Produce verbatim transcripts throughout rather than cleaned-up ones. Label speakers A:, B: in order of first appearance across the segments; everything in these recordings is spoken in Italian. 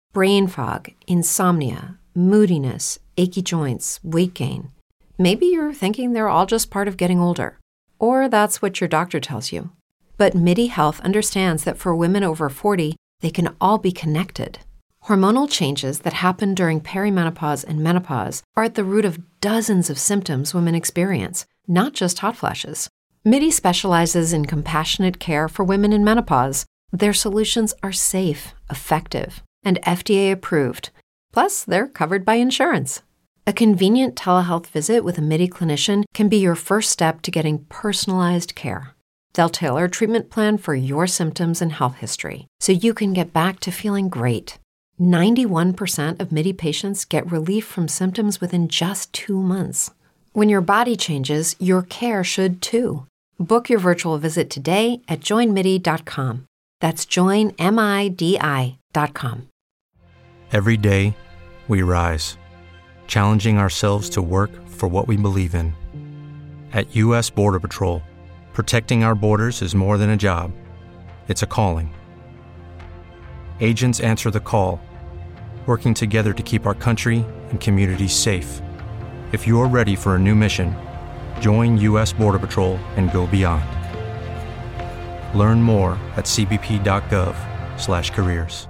A: brain fog, insomnia, moodiness, achy joints, weight gain. Maybe you're thinking they're all just part of getting older, or that's what your doctor tells you. But MIDI Health understands that for women over forty, they can all be connected. Hormonal changes that happen during perimenopause and menopause are at the root of dozens of symptoms women experience, not just hot flashes. MIDI specializes in compassionate care for women in menopause. Their solutions are safe, effective, and F D A approved. Plus, they're covered by insurance. A convenient telehealth visit with a MIDI clinician can be your first step to getting personalized care. They'll tailor a treatment plan for your symptoms and health history, so you can get back to feeling great. ninety-one percent of MIDI patients get relief from symptoms within just two months. When your body changes, your care should too. Book your virtual visit today at join midi dot com. That's join midi dot com.
B: Every day, we rise, challenging ourselves to work for what we believe in. At U S Border Patrol, protecting our borders is more than a job. It's a calling. Agents answer the call, working together to keep our country and communities safe. If you're ready for a new mission, join U S Border Patrol and go beyond. Learn more at c b p dot gov slash careers.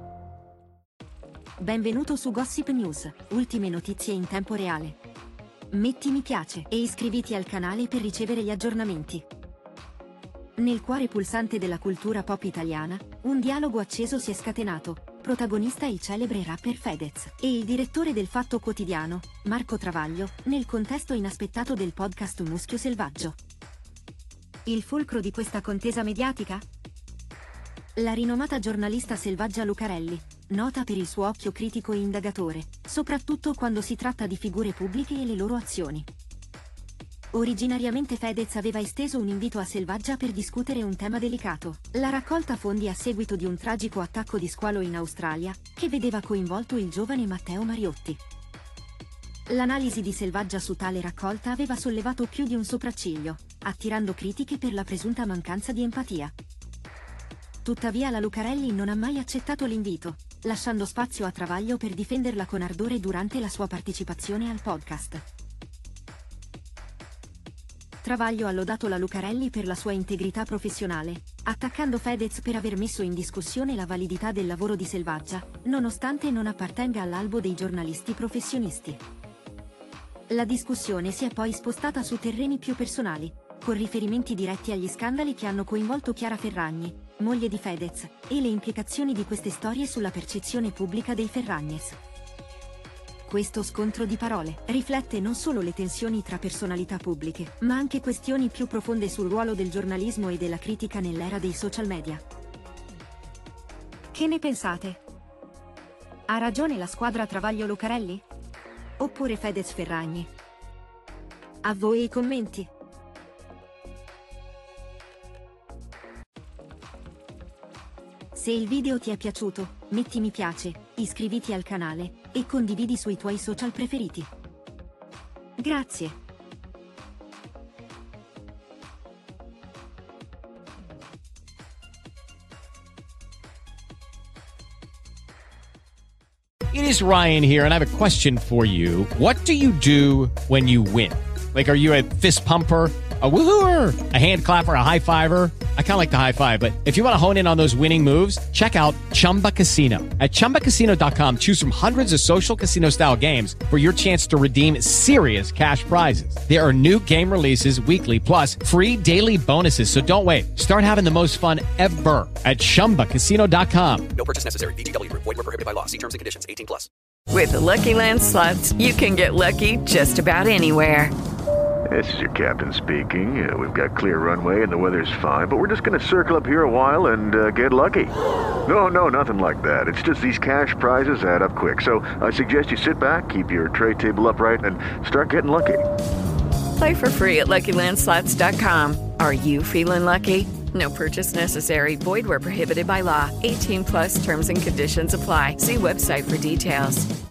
C: Benvenuto su Gossip News, ultime notizie in tempo reale. Metti mi piace e iscriviti al canale per ricevere gli aggiornamenti. Nel cuore pulsante della cultura pop italiana, un dialogo acceso si è scatenato, protagonista il celebre rapper Fedez e il direttore del Fatto Quotidiano, Marco Travaglio, nel contesto inaspettato del podcast Muschio Selvaggio. Il fulcro di questa contesa mediatica? La rinomata giornalista Selvaggia Lucarelli, nota per il suo occhio critico e indagatore, soprattutto quando si tratta di figure pubbliche e le loro azioni. Originariamente Fedez aveva esteso un invito a Selvaggia per discutere un tema delicato, la raccolta fondi a seguito di un tragico attacco di squalo in Australia, che vedeva coinvolto il giovane Matteo Mariotti. L'analisi di Selvaggia su tale raccolta aveva sollevato più di un sopracciglio, attirando critiche per la presunta mancanza di empatia. Tuttavia la Lucarelli non ha mai accettato l'invito, lasciando spazio a Travaglio per difenderla con ardore durante la sua partecipazione al podcast. Travaglio ha lodato la Lucarelli per la sua integrità professionale, attaccando Fedez per aver messo in discussione la validità del lavoro di Selvaggia, nonostante non appartenga all'albo dei giornalisti professionisti. La discussione si è poi spostata su terreni più personali, con riferimenti diretti agli scandali che hanno coinvolto Chiara Ferragni, moglie di Fedez, e le implicazioni di queste storie sulla percezione pubblica dei Ferragnes. Questo scontro di parole riflette non solo le tensioni tra personalità pubbliche, ma anche questioni più profonde sul ruolo del giornalismo e della critica nell'era dei social media. Che ne pensate? Ha ragione la squadra Travaglio Lucarelli? Oppure Fedez Ferragni? A voi i commenti. Se il video ti è piaciuto, metti mi piace, iscriviti al canale e condividi sui tuoi social preferiti. Grazie.
D: It is Ryan here, and I have a question for you. What do you do when you win? Like, are you a fist pumper, a woohooer, a hand clapper, a high fiver? I kind of like the high five, but if you want to hone in on those winning moves, check out Chumba Casino. At chumba casino dot com, choose from hundreds of social casino style games for your chance to redeem serious cash prizes. There are new game releases weekly, plus free daily bonuses. So don't wait. Start having the most fun ever at chumba casino dot com.
E: No purchase necessary. V G W Group. Void where prohibited by law. See terms and conditions. eighteen plus.
F: With the Lucky Land Slots, you can get lucky just about anywhere.
G: This is your captain speaking. Uh, we've got clear runway and the weather's fine, but we're just going to circle up here a while and uh, get lucky. No, no, nothing like that. It's just these cash prizes add up quick. So I suggest you sit back, keep your tray table upright, and start getting lucky.
F: Play for free at lucky land slots dot com. Are you feeling lucky? No purchase necessary. Void where prohibited by law. eighteen plus terms and conditions apply. See website for details.